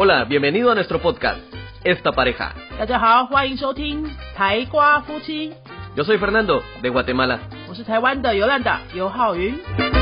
Hola, bienvenido a nuestro podcast, Esta Pareja. 大家好，欢迎收听台瓜夫妻。 Yo soy Fernando, de Guatemala. 我是台湾的尤兰达尤浩云。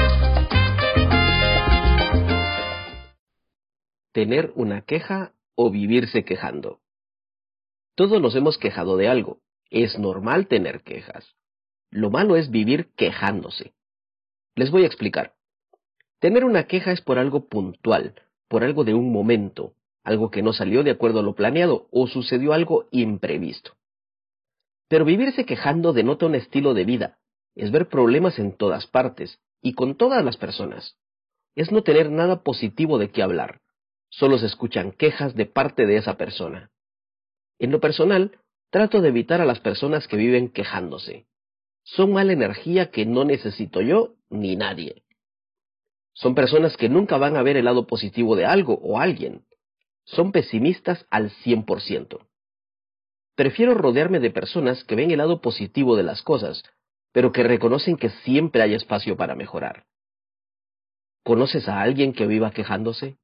Tener una queja o vivirse quejando. Todos nos hemos quejado de algo. Es normal tener quejas. Lo malo es vivir quejándose. Les voy a explicar. Tener una queja es por algo puntual, por algo de un momento, algo que no salió de acuerdo a lo planeado o sucedió algo imprevisto. Pero vivirse quejando denota un estilo de vida, es ver problemas en todas partes y con todas las personas. Es no tener nada positivo de qué hablar. Solo se escuchan quejas de parte de esa persona. En lo personal, trato de evitar a las personas que viven quejándose. Son mala energía que no necesito yo ni nadie. Son personas que nunca van a ver el lado positivo de algo o alguien. Son pesimistas al 100%. Prefiero rodearme de personas que ven el lado positivo de las cosas, pero que reconocen que siempre hay espacio para mejorar. ¿Conoces a alguien que viva quejándose?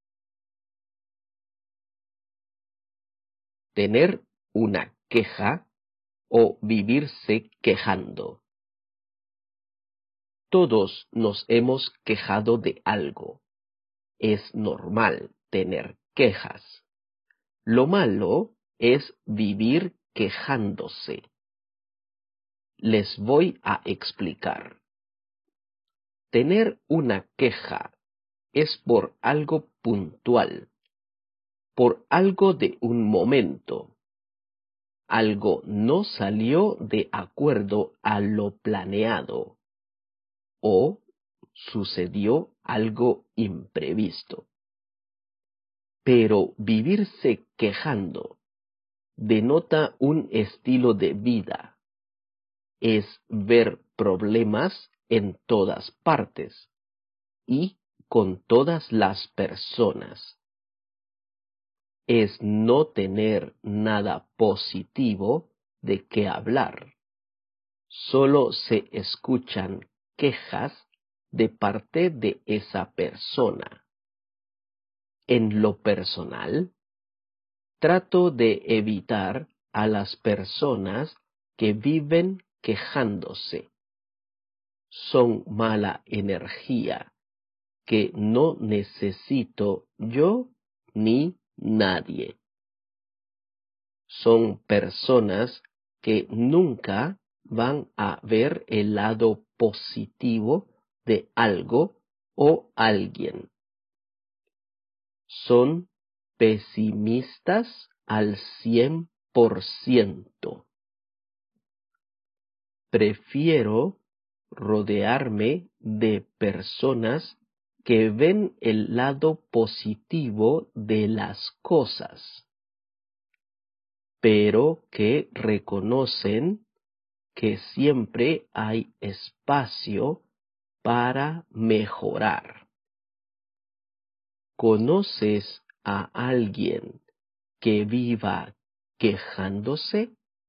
Tener una queja o vivirse quejando. Todos nos hemos quejado de algo. Es normal tener quejas. Lo malo es vivir quejándose. Les voy a explicar. Tener una queja es por algo puntual, por algo de un momento. Algo no salió de acuerdo a lo planeado o sucedió algo imprevisto. Pero vivirse quejando denota un estilo de vida. Es ver problemas en todas partes y con todas las personas. Es no tener nada positivo de qué hablar. Solo se escuchan quejas de parte de esa persona. En lo personal, trato de evitar a las personas que viven quejándose. Son mala energía que no necesito yo ni nadie. Son personas que nunca van a ver el lado positivo de algo o alguien. Son pesimistas al 100%. Prefiero rodearme de personas que ven el lado positivo de las cosas, pero que reconocen que siempre hay espacio para mejorar. ¿Conoces a alguien que viva quejándose?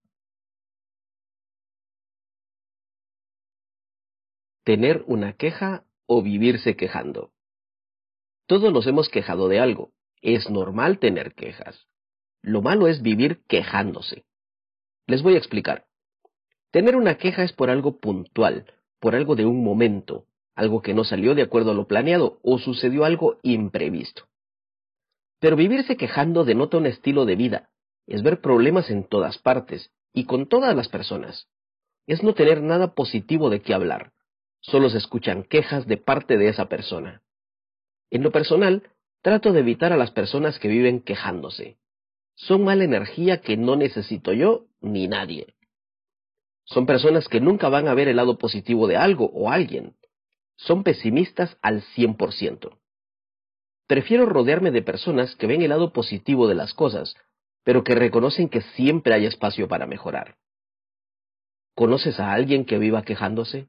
Tener una queja o vivirse quejando. Todos nos hemos quejado de algo. Es normal tener quejas. Lo malo es vivir quejándose. Les voy a explicar. Tener una queja es por algo puntual, por algo de un momento, algo que no salió de acuerdo a lo planeado o sucedió algo imprevisto. Pero vivirse quejando denota un estilo de vida, es ver problemas en todas partes y con todas las personas. Es no tener nada positivo de qué hablar. Solo se escuchan quejas de parte de esa persona. En lo personal, trato de evitar a las personas que viven quejándose. Son mala energía que no necesito yo ni nadie. Son personas que nunca van a ver el lado positivo de algo o alguien. Son pesimistas al 100%. Prefiero rodearme de personas que ven el lado positivo de las cosas, pero que reconocen que siempre hay espacio para mejorar. ¿Conoces a alguien que viva quejándose?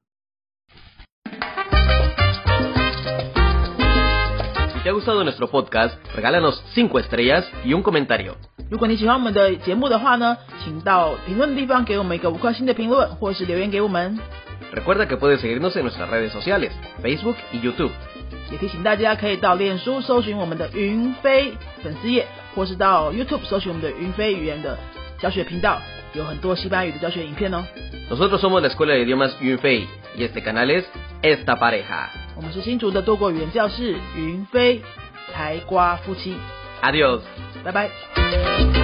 Si te ha gustado nuestro podcast, regálanos 5 estrellas y un comentario. 如果你喜欢我们的节目的话呢，请到评论的地方给我们一个5颗星的评论，或是留言给我们。 Recuerda que puedes seguirnos en nuestras redes sociales, Facebook y YouTube. 也提醒大家可以到脸书搜寻我们的云飞粉丝页，或是到 YouTube 搜寻我们的云飞语言的教学频道，有很多西班牙语的教学影片哦。 Nosotros somos la Escuela de Idiomas Yunfei y este canal es Esta Pareja. 我们是新竹的多国语言教室云飞台瓜夫妻。 Adiós. 拜拜。